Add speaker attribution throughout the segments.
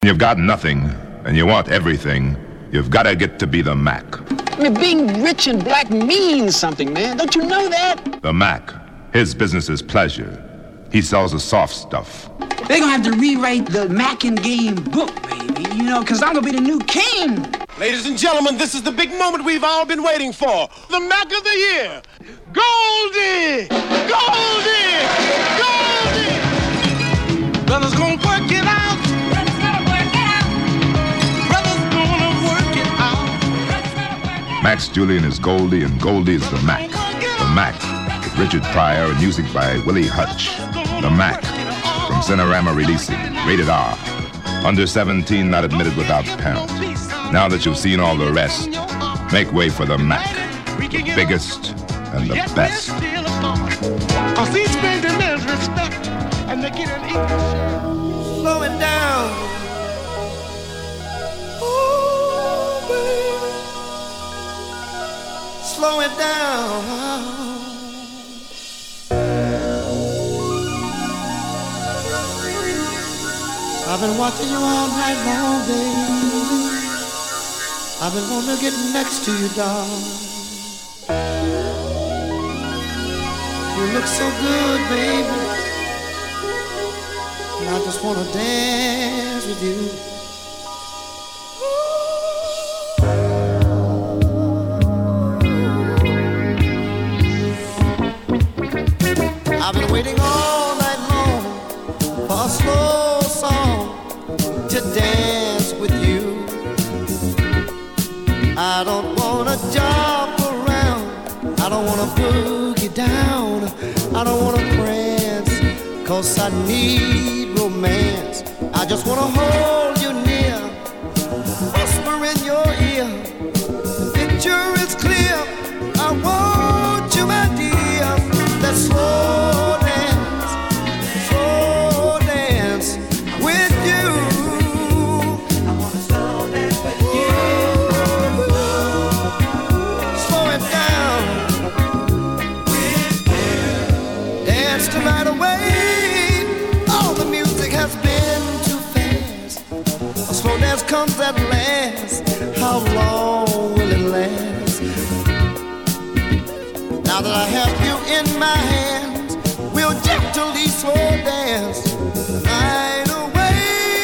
Speaker 1: You've got nothing, and you want everything. You've got to get to be the Mac.
Speaker 2: I mean, being rich and black means something, man. Don't you know that?
Speaker 1: The Mac. His business is pleasure. He sells the soft stuff.
Speaker 2: They're gonna have to rewrite the Mac and Game book, baby. You know, because I'm gonna be the new king.
Speaker 3: Ladies and gentlemen, this is the big moment we've all been waiting for. The Mac of the Year. Goldie! Goldie! Goldie! Brothers gonna work it out.
Speaker 4: Brothers gonna work it out.
Speaker 3: Brothers gonna work it out.
Speaker 4: Brothers gonna work it out.
Speaker 1: Max Julian is Goldie, and Goldie is the Mac. The Mac, with Richard Pryor and music by Willie Hutch. The Mac, from Cinerama Releasing, rated R. Under 17, not admitted without parent. Now that you've seen all the rest, make way for the Mac, the biggest and the best.
Speaker 3: Cause each man demands respect, and they get an equal share. Slow it down. Ooh, baby. Slow it down. I've been watching you all night long, baby. I've been wanting to get next to you, darling. You look so good, baby. And I just want to dance with you. I've been waiting all night long for a slow song to dance with you. I don't wanna jump around, I don't wanna boogie down, I don't wanna prance, cause I need romance. I just wanna hold you near, whisper in your ear, the picture is clear, I want you, my dear. Let's slow dance with you. I wanna slow dance with you. Slow it down with you. Dance the night away. All the music has been too fast. A slow dance comes at last. How long will it last? Now that I have you in my hands, we'll gently slow dance the night away.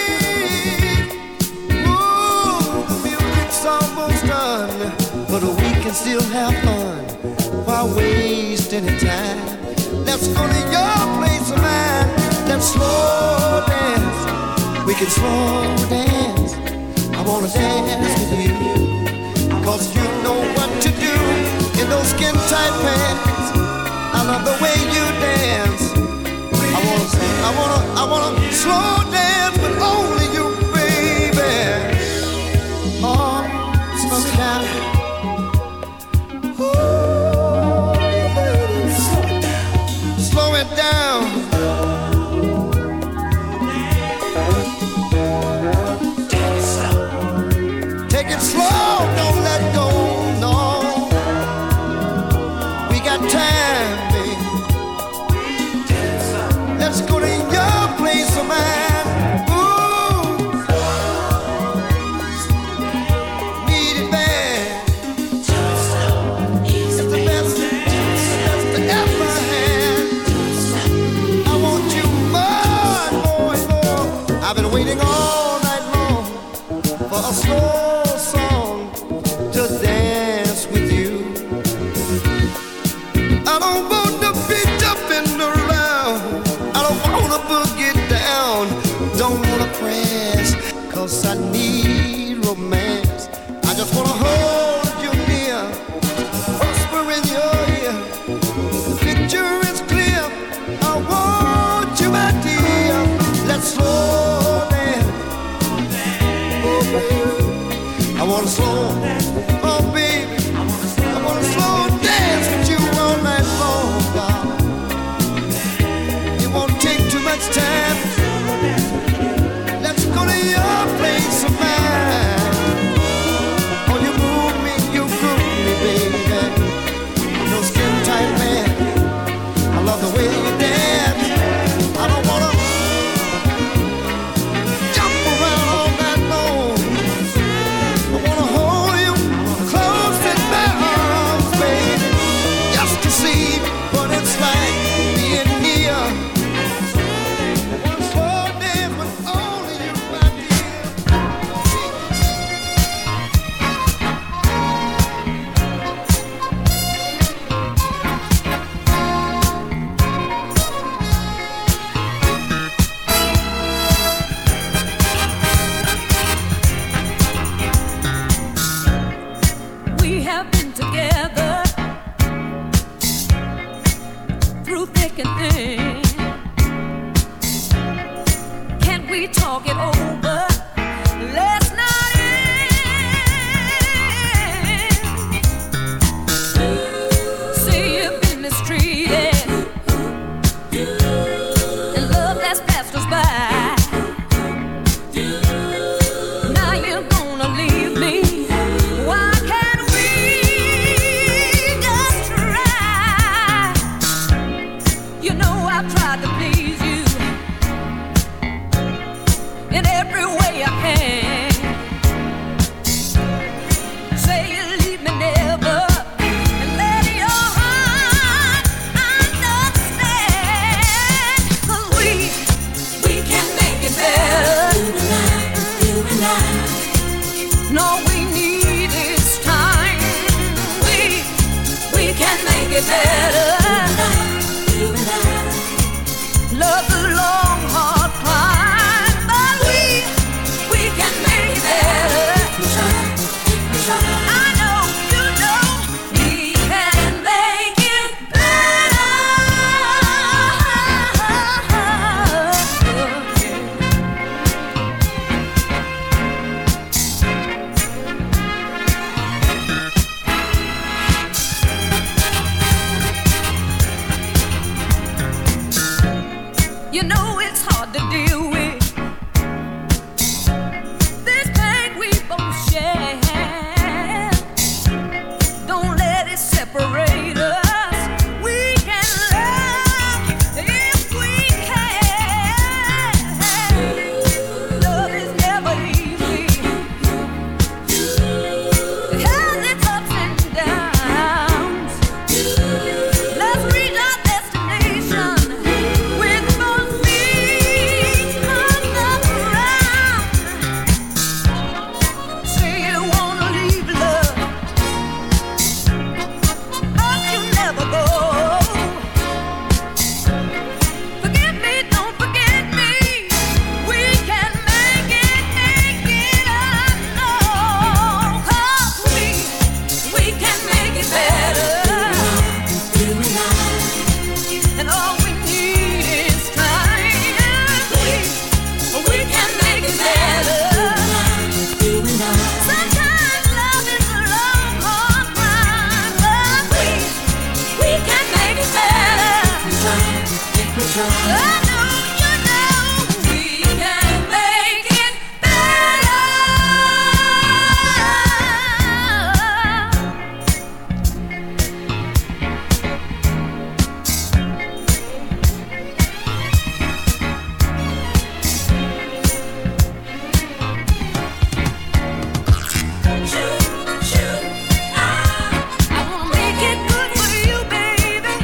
Speaker 3: Ooh, the music's almost done, but we can still have fun. Why waste any time? Let's go to your place of mine. Let's slow dance. We can slow dance. I wanna dance with you, cause you know what to do in those skin tight pants. I love the way you dance. I wanna slow dance with only you, baby. Oh, slow it down. Ooh, baby, slow it down. Take it slow, don't let go, no. We got time, baby. Let's go to your place of mine. Ooh, need it bad. It's the best to ever had. I want you more and more and more. I've been waiting all night long for a slow song to dance with you. I don't want to be jumping around, I don't wanna boogie down, don't wanna press, cause I need romance. I just wanna hold you near, whisper in your ear, the picture is clear, I want you, my dear. Let's slow dance, oh baby, I wanna slow, oh baby, I wanna slow dance with you all night long, God. It won't take too much time. Let's go to your place of mine. Oh, you move
Speaker 5: it over. Let's not end. See you've been mistreated, and love that's passed us by. Now you're gonna leave me. Why can't we just try? You know I've tried to please you in every way I can. Say you leave me never, and let your heart understand. 'Cause we can make it better. You and I. No, we need is time. We can make it better. You and I. Love's a long, hard climb, but we can make it better. I know, you know, we can make it better. You know it's hard to deal with this pain we both share. Don't let it separate us. We can love if we can. Love is never easy. It has its ups and downs. Let's reach our destination with both feet on the ground. Say you wanna leave love, but you never go. Forgive me, don't forget me. We can make it, I know. 'Cause we can make it better. You and I. And all we need is time. We can make it better. You and I. Sometimes love is a long, hard climb, but we can make it better. I know, you know, we can make it better. I wanna make it good for you, baby.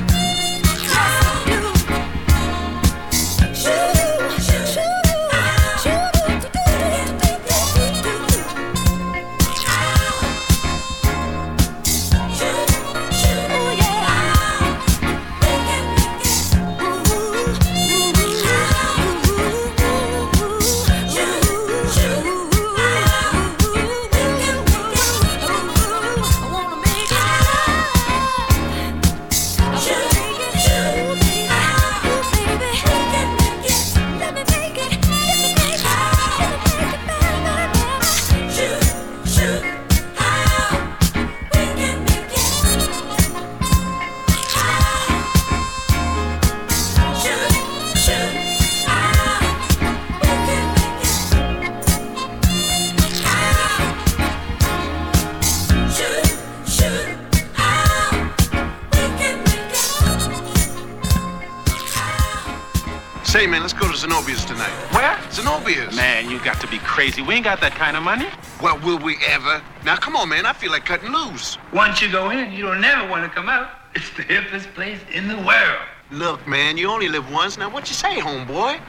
Speaker 6: Say, man, let's go to Zenobia's tonight.
Speaker 7: Where?
Speaker 6: Zenobia's.
Speaker 7: Man, you got to be crazy. We ain't got that kind of money.
Speaker 6: Well, will we ever? Now, come on, man. I feel like cutting loose.
Speaker 8: Once you go in, you don't never want to come out. It's the hippest place in the world.
Speaker 6: Look, man, you only live once. Now, what you say, homeboy?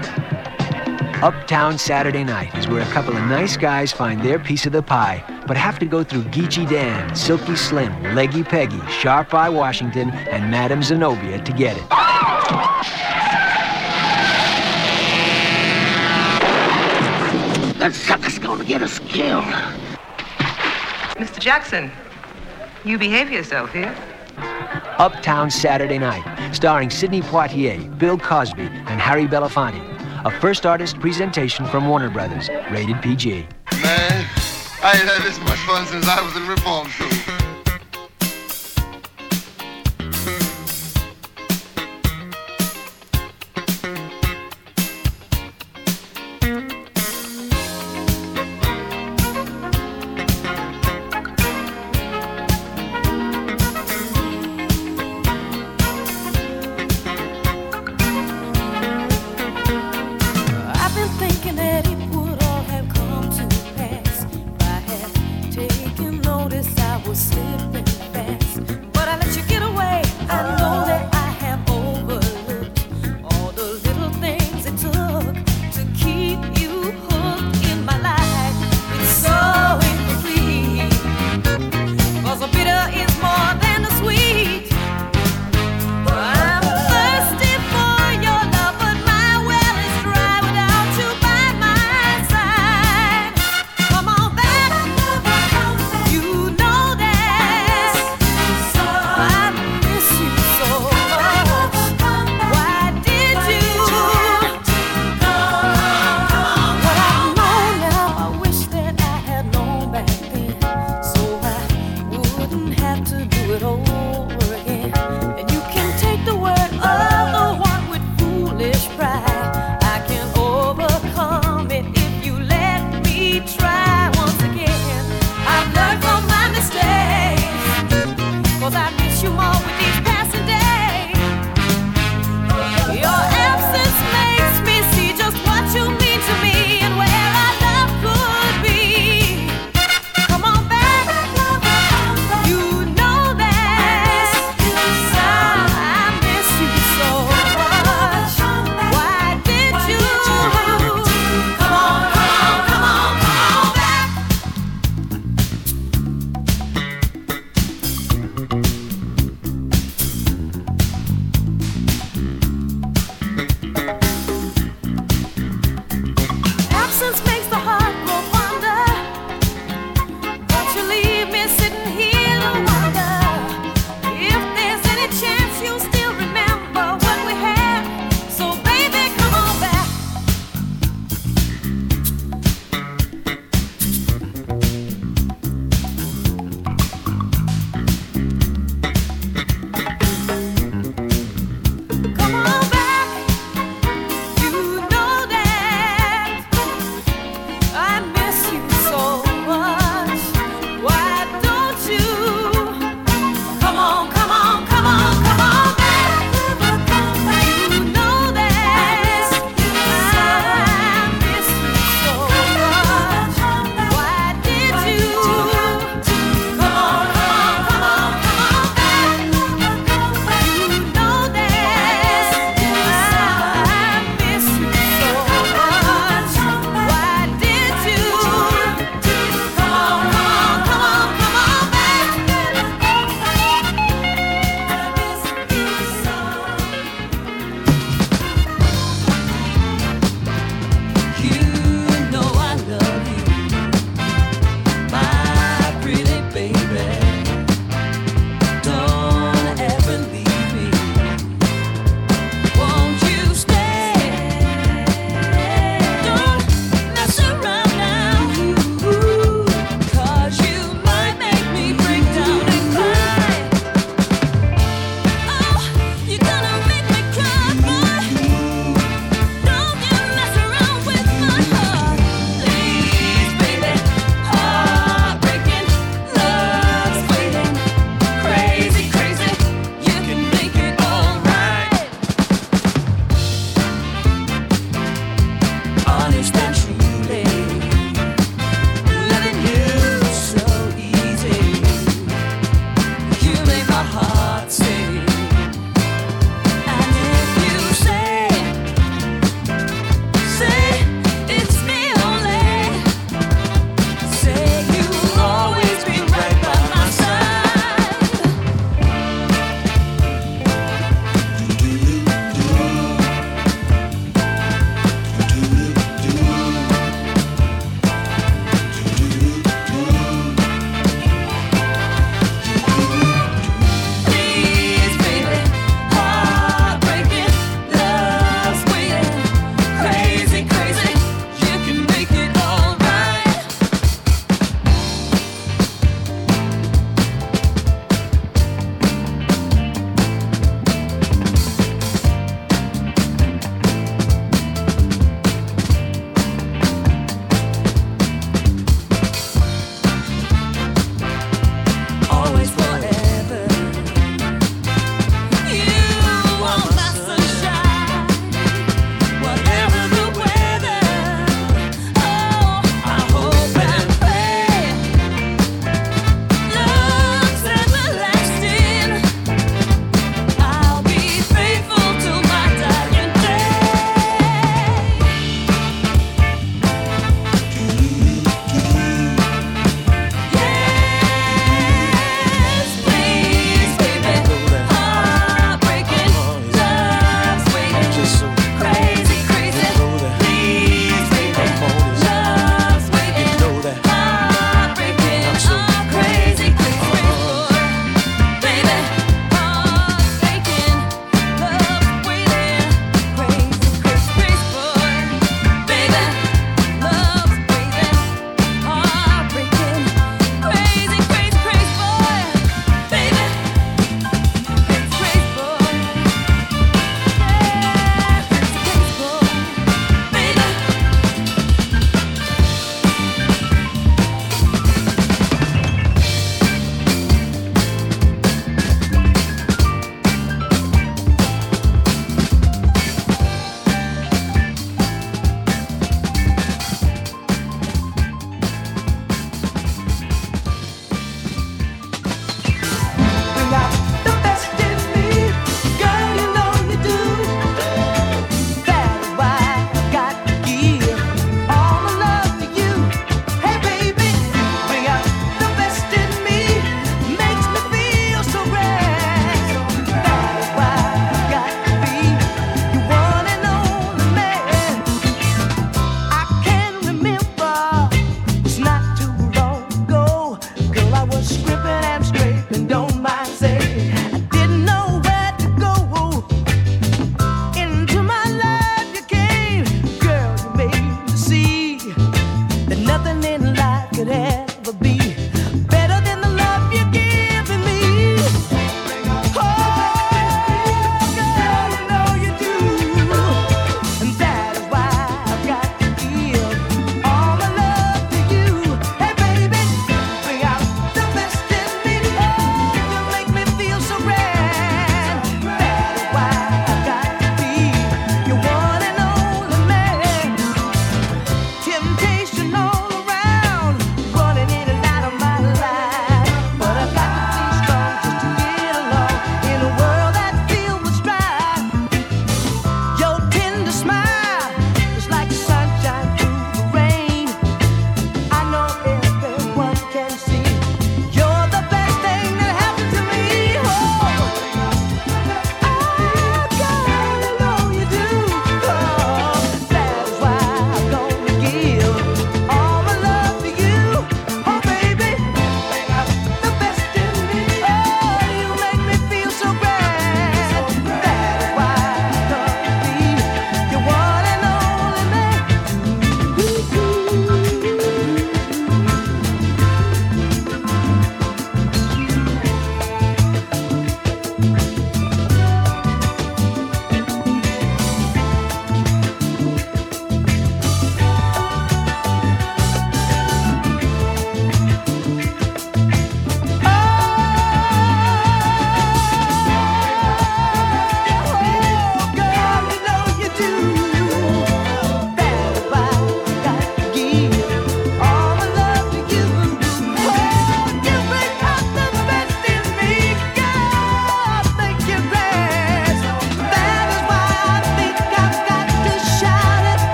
Speaker 9: Uptown Saturday Night is where a couple of nice guys find their piece of the pie, but have to go through Geechee Dan, Silky Slim, Leggy Peggy, Sharp Eye Washington, and Madame Zenobia to get it.
Speaker 10: That sucker's gonna get us killed.
Speaker 11: Mr. Jackson, you behave yourself here.
Speaker 9: Uptown Saturday Night, starring Sidney Poitier, Bill Cosby, and Harry Belafonte. a first artist presentation from Warner Brothers, rated PG.
Speaker 6: Man, I ain't had this much fun since I was in reform school.
Speaker 5: Was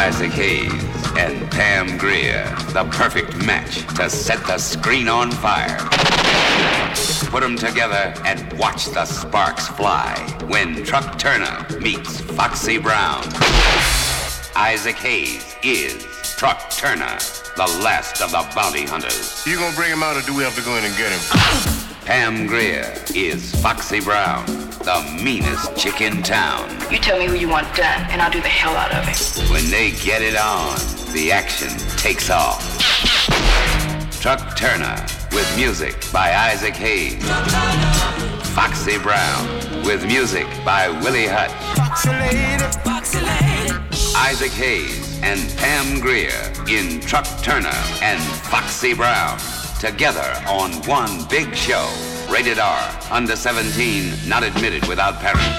Speaker 12: Isaac Hayes and Pam Grier, the perfect match to set the screen on fire. Put them together and watch the sparks fly when Truck Turner meets Foxy Brown. Isaac Hayes is Truck Turner, the last of the bounty hunters.
Speaker 13: You gonna bring him out or do we have to go in and get him?
Speaker 12: Pam Grier is Foxy Brown, the meanest chick in town.
Speaker 14: You tell me who you want done, and I'll do the hell out of it.
Speaker 12: When they get it on, the action takes off. Truck Turner with music by Isaac Hayes. Foxy Brown with music by Willie Hutch.
Speaker 3: Foxy lady, foxy lady.
Speaker 12: Isaac Hayes and Pam Grier in Truck Turner and Foxy Brown. Together on one big show. Rated R. Under 17. Not admitted without parents.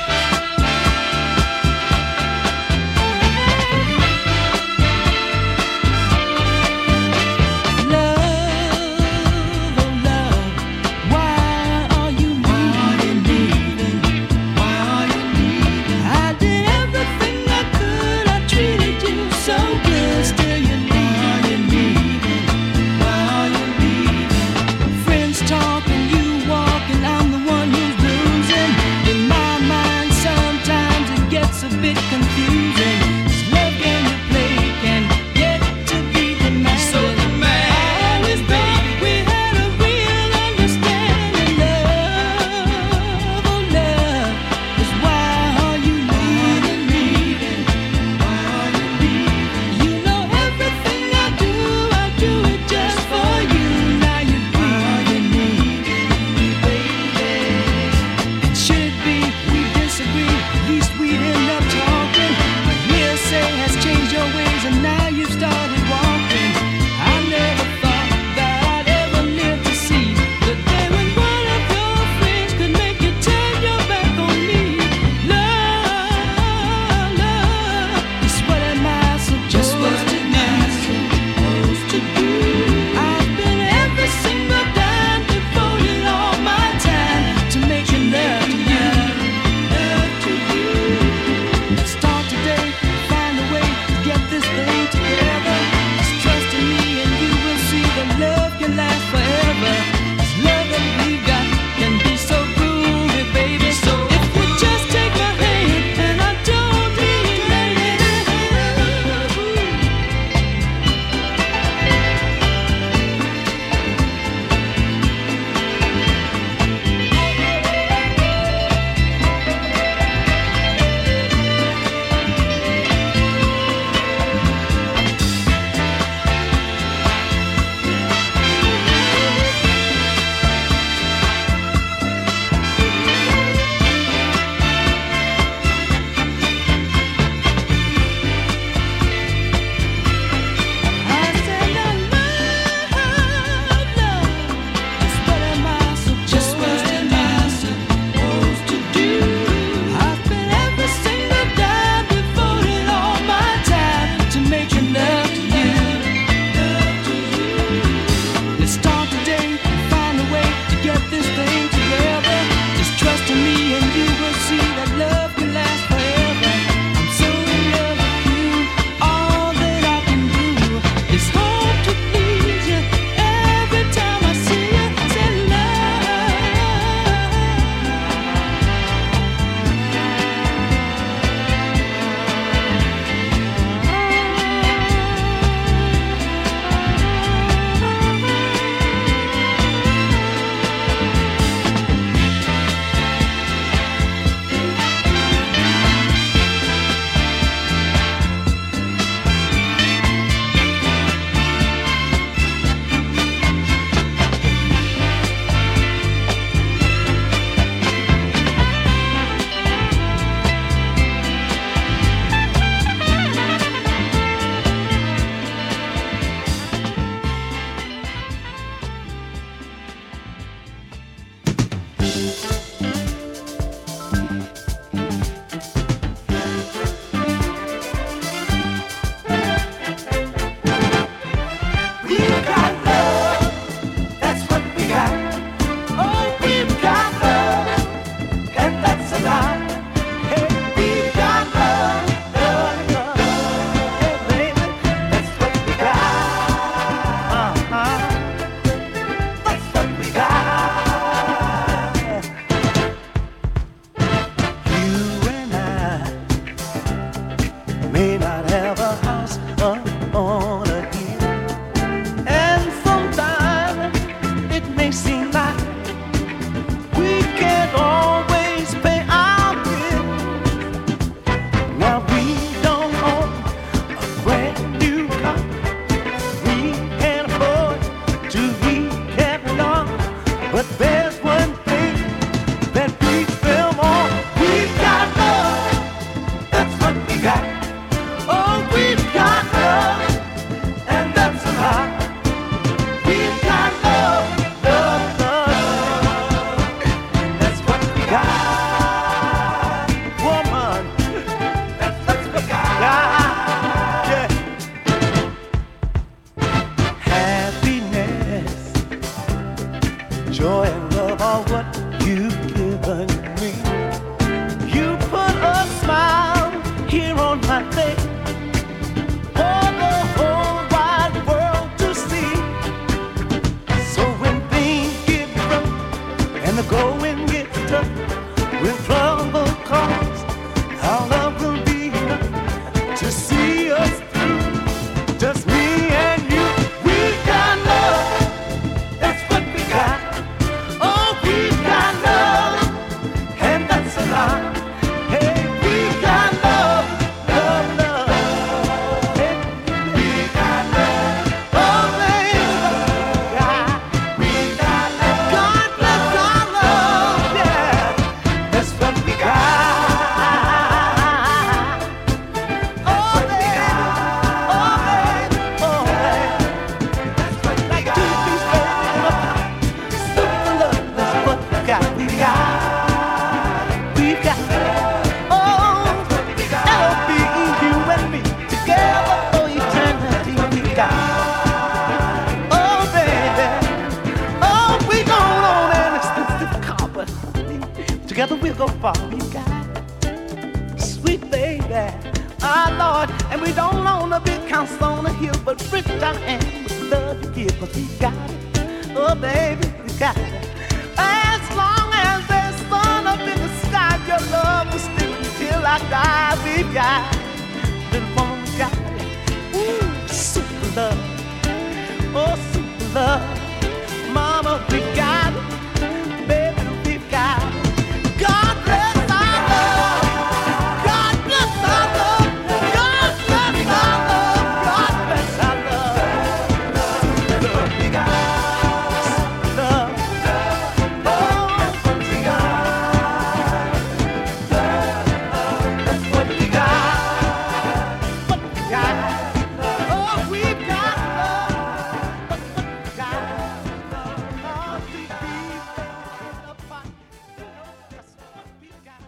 Speaker 15: than me. You put a smile here on my face for the whole wide world to see. So when things get rough and the going gets tough, when trouble comes, our love will be enough to see us through. Just me and you, we got love. That's what we got. Oh, we got love, and that's a lot. Hey, we got love, love, love. Hey, we got love. Oh, baby, we got love. God bless our love, yeah. That's what we got. Oh, baby, oh, baby, oh, baby. That's what we got. Super love, that's what we got. We got, oh, L.O.B., you and me together for eternity. We got, oh, baby, oh, we don't own an expensive car, but together we'll go far. We got, sweet baby, our Lord, and we don't own a big house on a hill, but rich I am with love you give, 'cause we got it. Oh, baby, we got it. As long as there's sun up in the sky, your love will stick until I die. We got it. Little woman, we got it. Ooh, super love. Oh, super love. Mama, we got it. Baby, we got it. God bless our love. God bless our love. God bless our love. God bless our love. Super love, we got it. Super love. Oh, we got that's what we got. What we got. Oh, we got love. What we got. Oh, we be apart. That's what we got.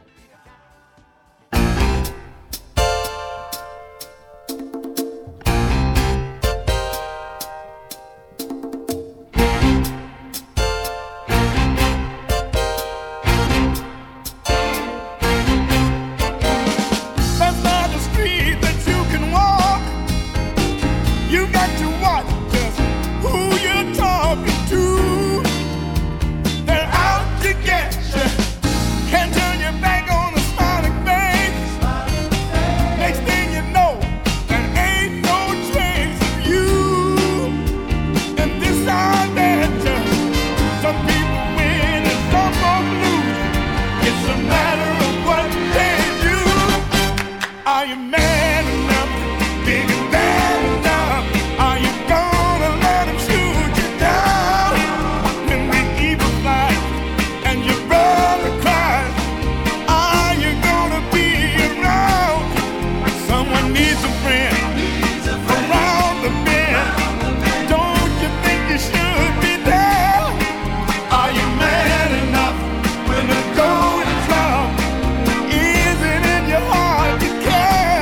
Speaker 3: That's not a street that you can walk. You got to watch just who you're talking to. They're out to get you. Can't turn your back on a smiling face. Next thing you know, there ain't no trace of you. And this I bet you, some people win and some folks lose. It's a matter of what they do. Are you man enough, big and bad enough? Are you gonna let him shoot you down? When the evil flies and your brother cries, are you gonna be around? Someone needs a friend around the bend. Don't you think you should be there? Are you man enough when the going is rough? Is it in your heart to care?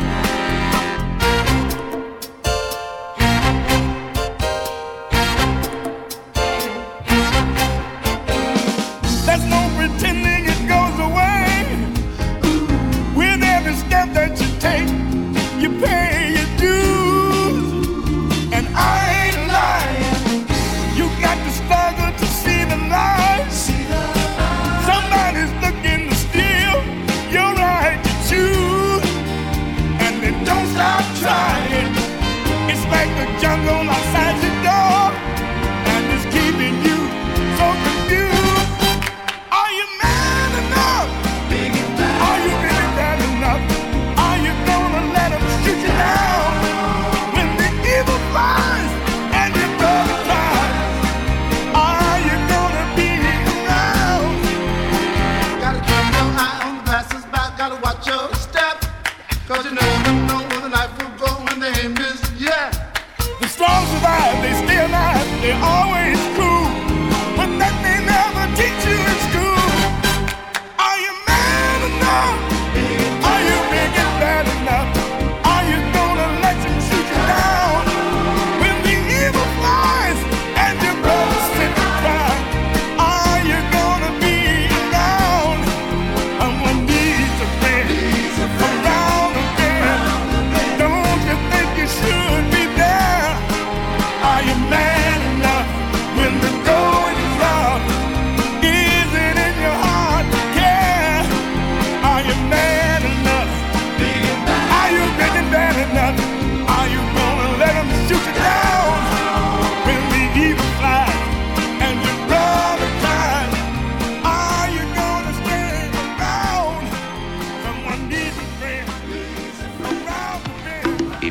Speaker 3: There's no pretending it goes away. With every step that you take, you pay your dues. And I ain't lying. You got to struggle to see the light. Somebody's looking to steal your right to choose. And they don't stop trying. It's like the jungle outside your door, and it's keeping you so confused. Are you mad?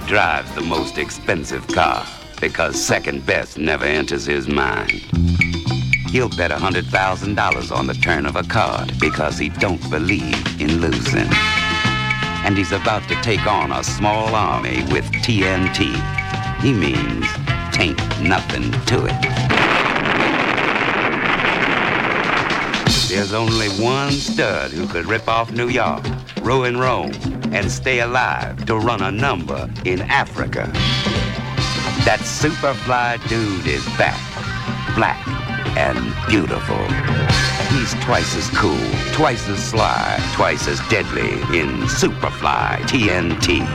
Speaker 12: drives the most expensive car because second best never enters his mind. He'll bet $100,000 on the turn of a card because he don't believe in losing. And he's about to take on a small army with TNT. He means tain't nothing to it. There's only one stud who could rip off New York, ruin Rome, and stay alive to run a number in Africa. That Superfly dude is back, black and beautiful. He's twice as cool, twice as sly, twice as deadly in Superfly TNT.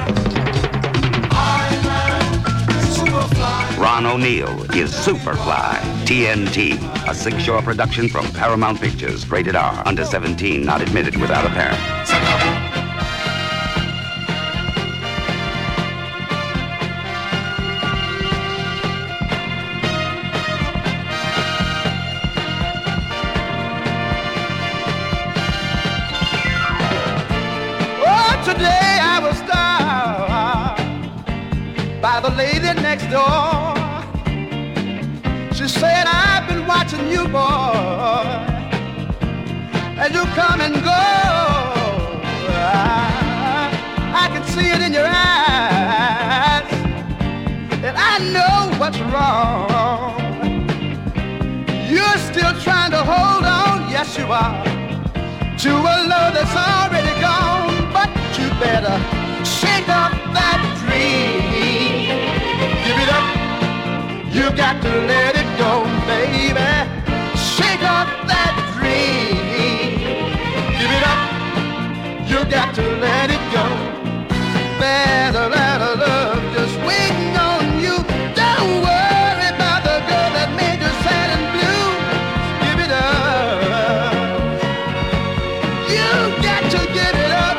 Speaker 12: Ron O'Neal is Superfly TNT, a six-show production from Paramount Pictures, rated R, under 17, not admitted without a parent.
Speaker 15: Today I was stopped by the lady next door. She said, I've been watching you, boy, and you come and go. I can see it in your eyes, and I know what's wrong. You're still trying to hold on, yes you are, to a love that's already gone. But you better shake up that dream. Give it up, you got to let it go, baby. Shake up that dream. Give it up, you got to let it go. Better let her love just waiting on you. Don't worry about the girl that made you sad and blue. Give it up, you got to give it up.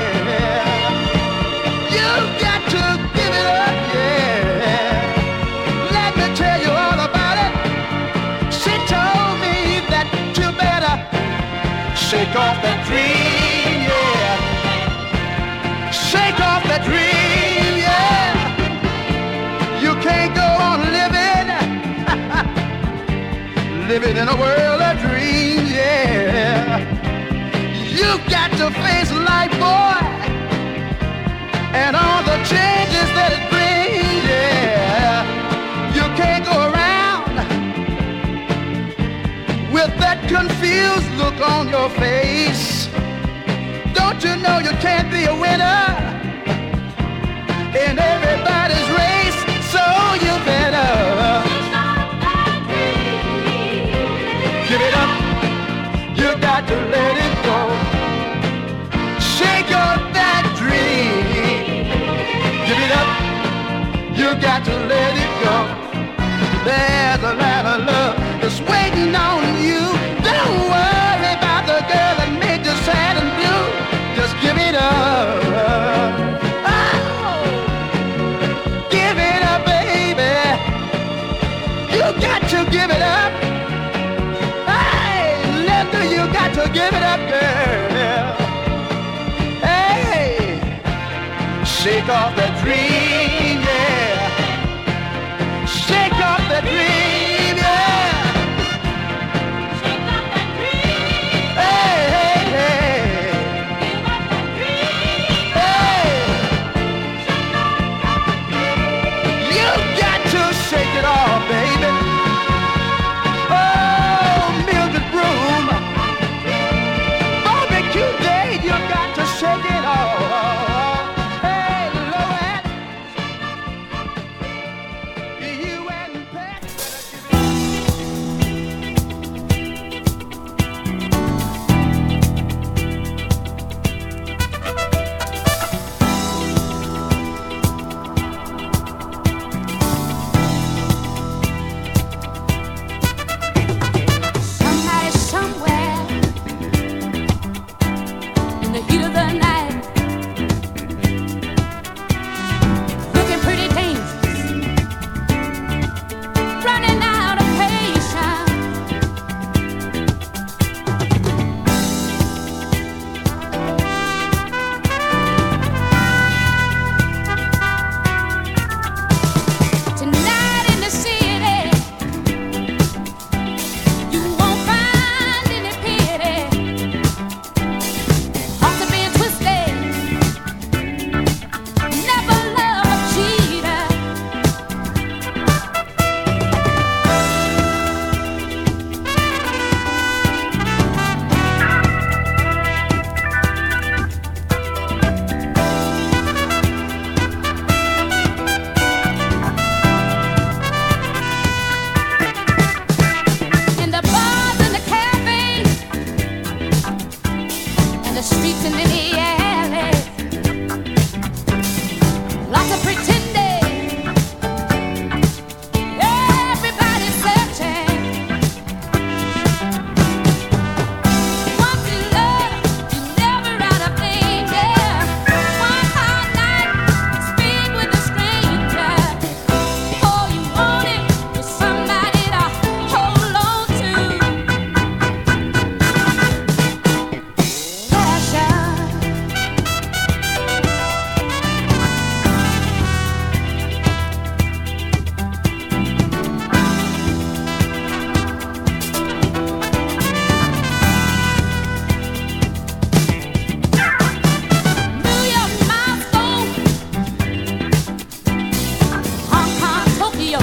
Speaker 15: Shake off that dream, yeah. Shake off that dream, yeah. You can't go on living in a world of dreams, yeah. You got to face life, boy, and all the changes that it brings, yeah. You can't go around with that confused look on your face. Don't you know you can't be a winner in everybody's race? So you better give it up. You got to let it go. Shake up that dream. Give it up. You got to let it go. There's a lot of love that's waiting on you. Don't worry about the girl that made you sad and blue. Just give it up. Oh, give it up, baby. You got to give it up. Hey, Linda, you got to give it up, girl. Hey, shake off that dream, yeah. Shake off that dream, yeah. Shake off that dream. Hey, hey, hey. Give up that dream. Hey. Shake off that dream. You got to shake it off, baby. Oh, Mildred Broom. Barbecue Day, you got to shake it off. Hey, Loet. You and Pat.
Speaker 5: the streets and in the alleys. Lots of pretending. Everybody's searching. Once in love, you're never out of danger. One hot night, speak with a stranger. All you wanted was somebody to hold on to. New York, Moscow, Hong Kong, Tokyo,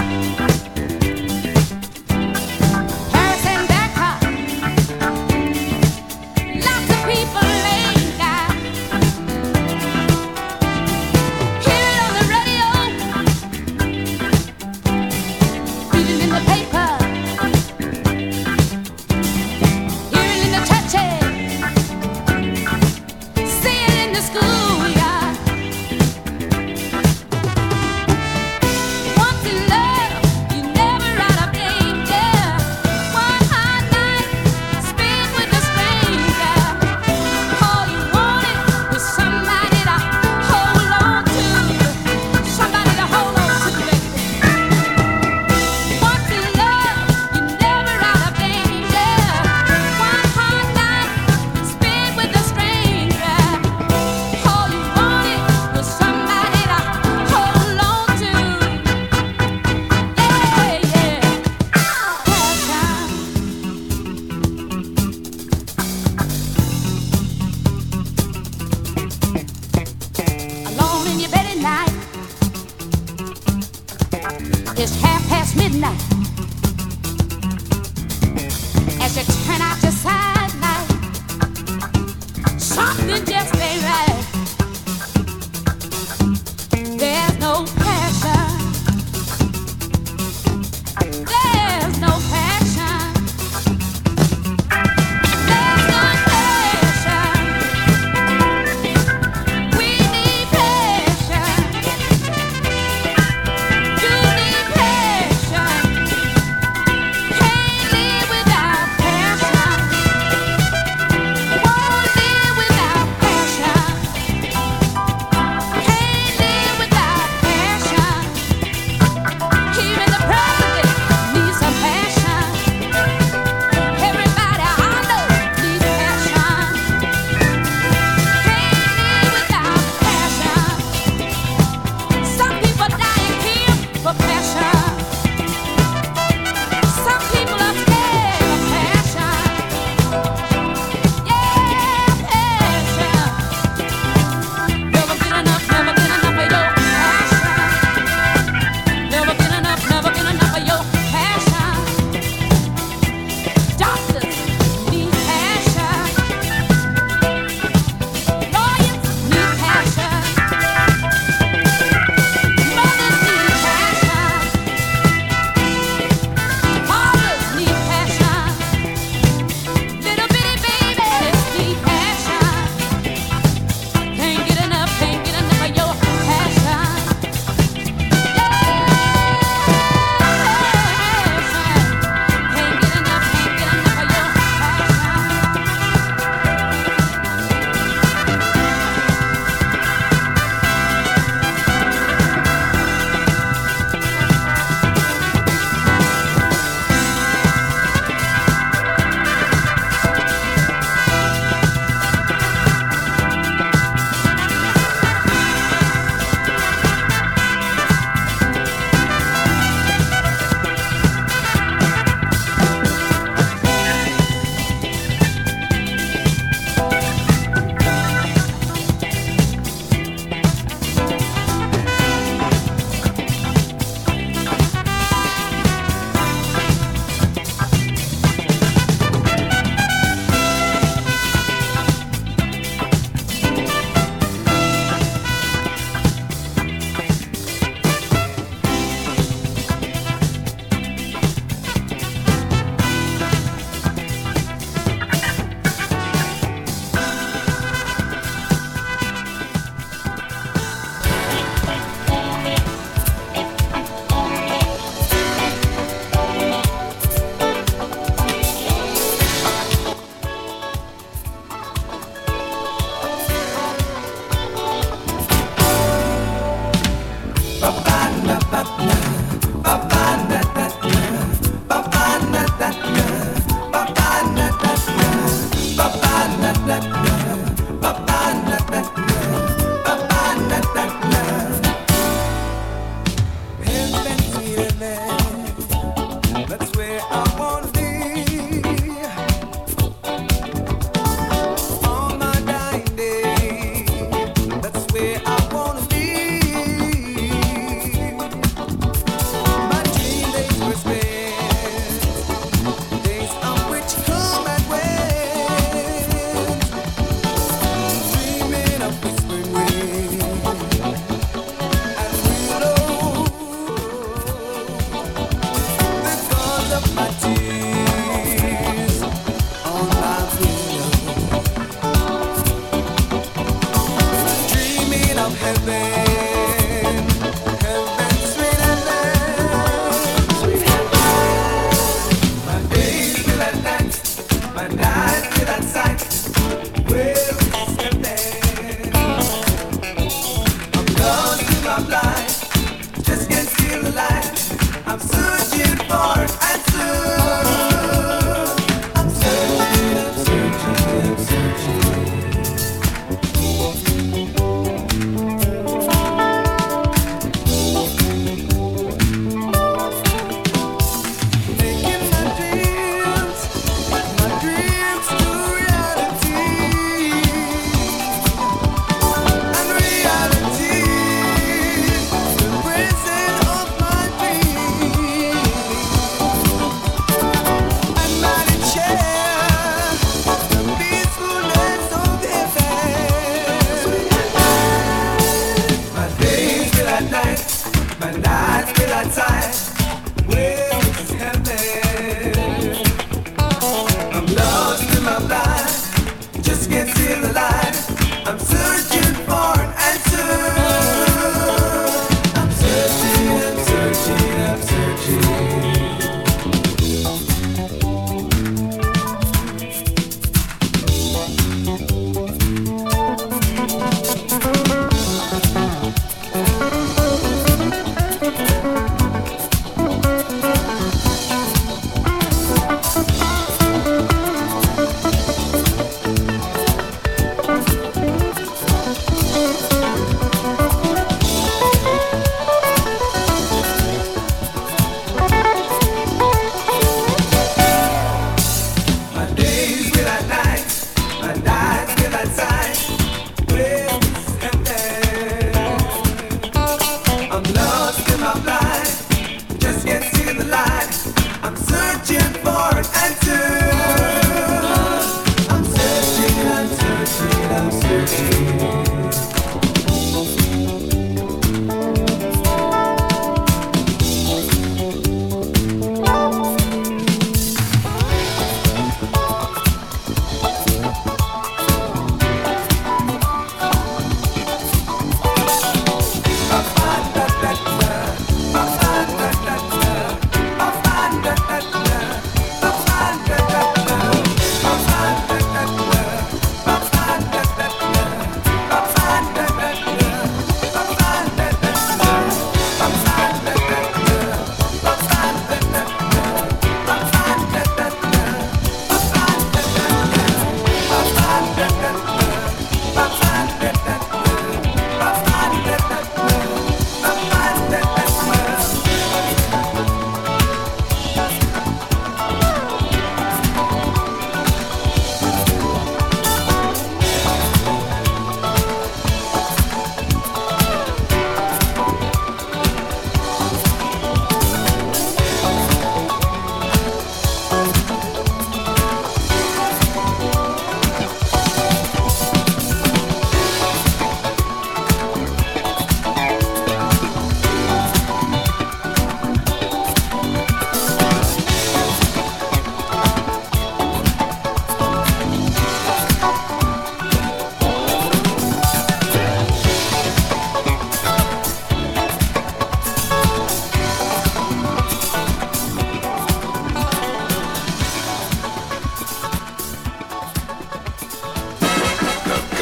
Speaker 5: Paris and Bangkok. Lots of people linger. Hear it on the radio, read it in the paper, hear it in the churches, see it in the schoolyard. Once in love, you're never out of danger. One hot night, spent with a stranger. All you wanted was somebody to hold on to, somebody to hold on to, baby. Once in love, you're never out of danger. One hot night, spent with a stranger. All you wanted was somebody to hold on to. Yeah, yeah. Alone in your bed at night. It's midnight. As you turn out your side light, something just ain't right. There's no passion. There's no passion. There's no passion. We need passion. You need passion.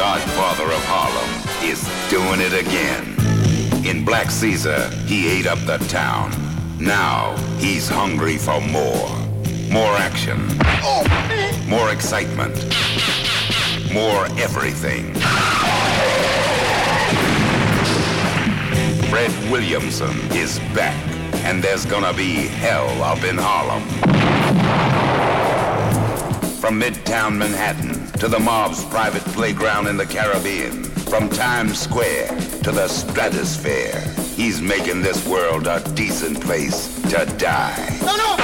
Speaker 12: godfather of Harlem, is doing it again. In Black Caesar, he ate up the town. Now, he's hungry for more. More action. More excitement. More everything. Fred Williamson is back, and there's gonna be hell up in Harlem. From Midtown Manhattan to the mob's private playground in the Caribbean, from Times Square to the stratosphere, he's making this world a decent place to die.
Speaker 3: No!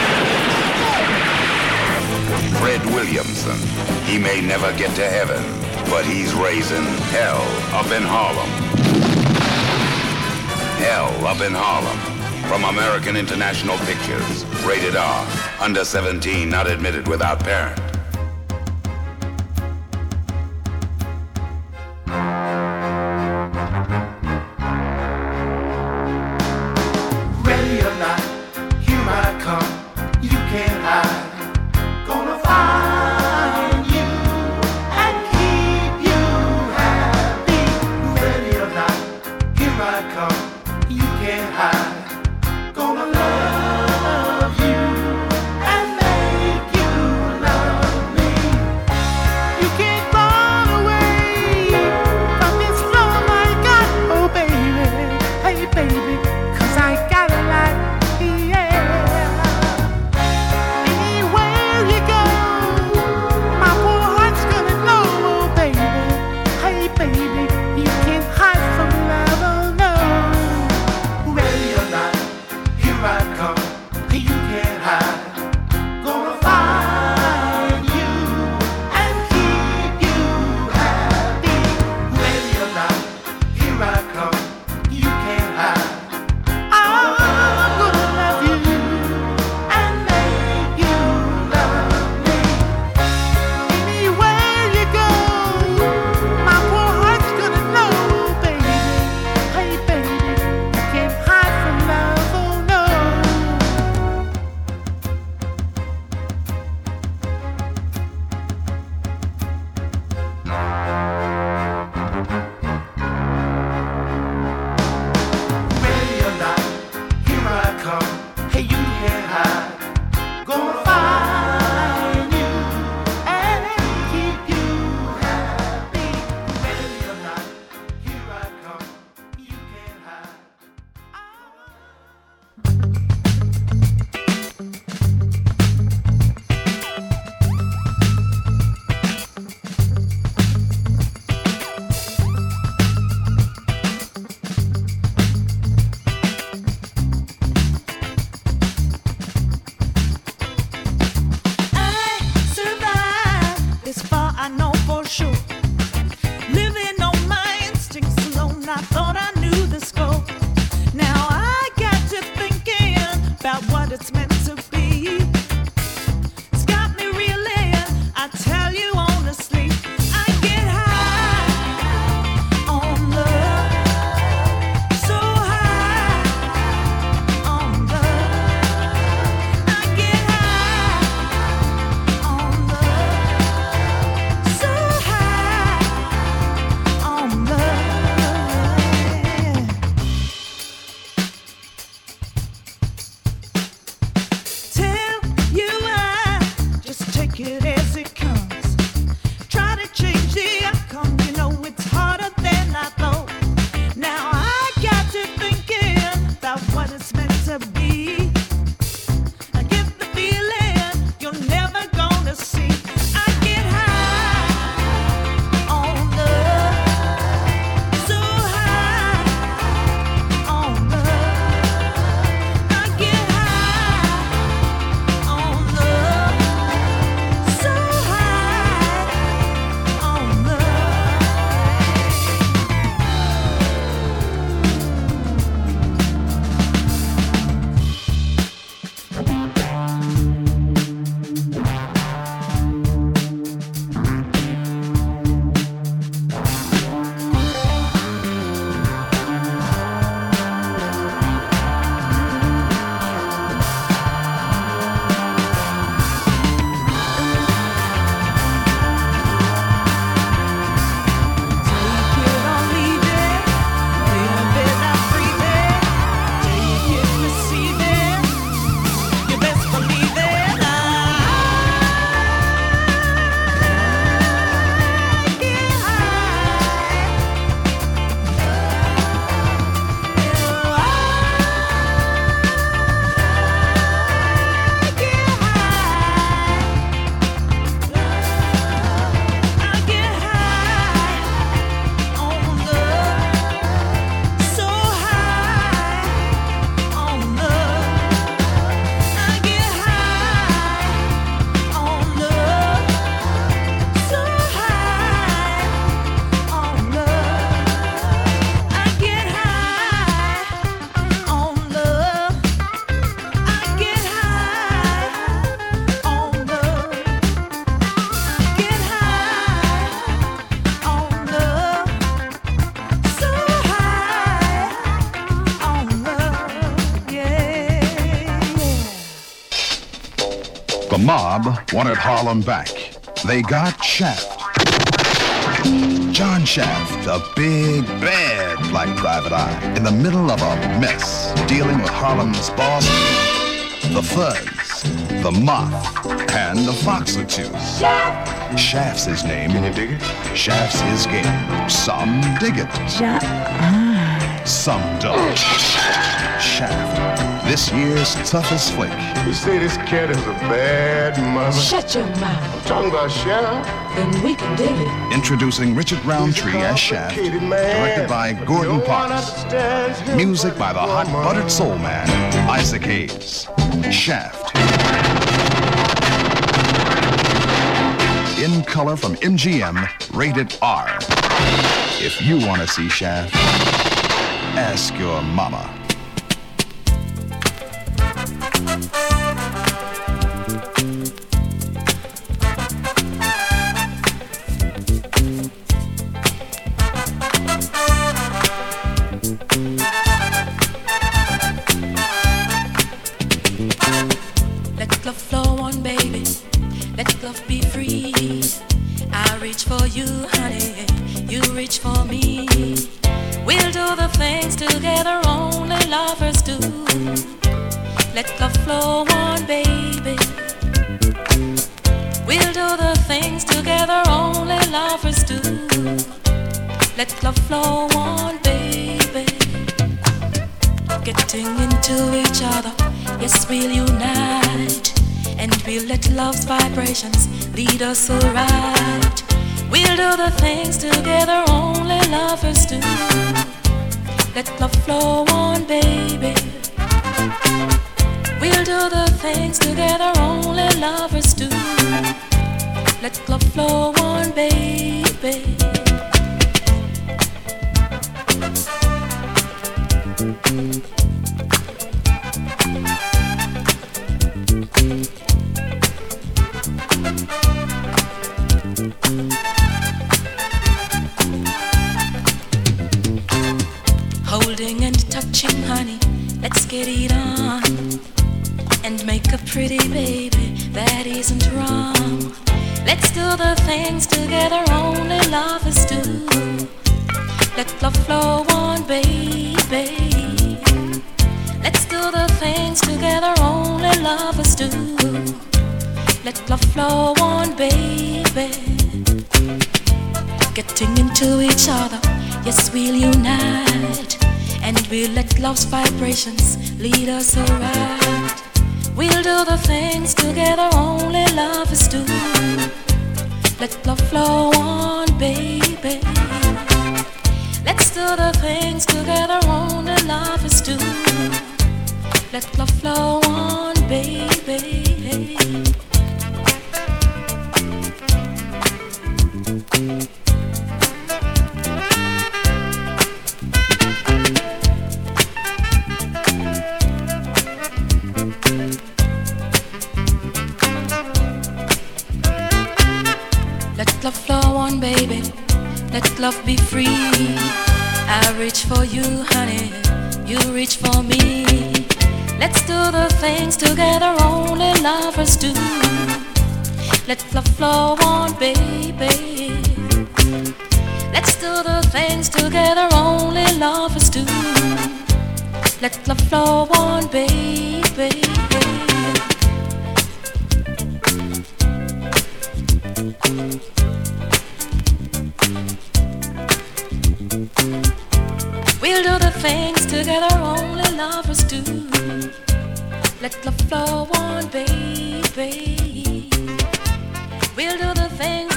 Speaker 12: Fred Williamson, he may never get to heaven, but he's raising hell up in Harlem. Hell up in Harlem. From American International Pictures. Rated R. Under 17, not admitted without parent.
Speaker 3: Ready or not, here I come. You can't hide. Gonna find you and keep you happy. Ready or not, here I come. You can't hide. Gonna love you and make you love
Speaker 16: mob wanted Harlem back. They got Shaft. John Shaft, a big, bad black private eye, in the middle of a mess, dealing with Harlem's boss, the Fuzz, the Moth, and the Fox or two. Shaft's his name. Can you dig it? Shaft's his game. Some dig it. Some don't. Shaft, this year's toughest flick.
Speaker 13: You say this cat is a bad mother?
Speaker 17: Shut your mouth.
Speaker 13: I'm talking about Shaft.
Speaker 17: Then we can dig it.
Speaker 16: Introducing Richard Roundtree as Shaft, directed by Gordon Parks. Music by the hot buttered soul man, Isaac Hayes. Shaft. In color from MGM, rated R. If you want to see Shaft, ask your mama.
Speaker 5: Let love flow on, baby. Let love be free. I reach for you, honey. You reach for me. We'll do the things together only lovers do. Let love flow on, baby. We'll do the things together only lovers do. Let love flow on, baby. Getting into each other, yes, we'll unite. And we'll let love's vibrations lead us aright. We'll do the things together only lovers do. Let love flow on, baby. We'll do the things together only lovers do. Let love flow on, baby. Holding and touching, honey, let's get it on. And make a pretty baby, that isn't wrong. Let's do the things together only lovers do. Let love flow on, baby. Let's do the things together only lovers do. Let love flow on, baby. Getting into each other, yes, we'll unite. And we'll let love's vibrations lead us aright. We'll do the things together only lovers do. Let love flow on, baby. Let's do the things together only lovers do. Let love flow on, baby. Let love flow on, baby. Let love be free. I reach for you, honey. You reach for me. Let's do the things together only lovers do. Let love flow on, baby. Let's do the things together only lovers do. Let love flow on, baby. We'll do the things together only lovers do. Let love flow on, baby. We'll do the things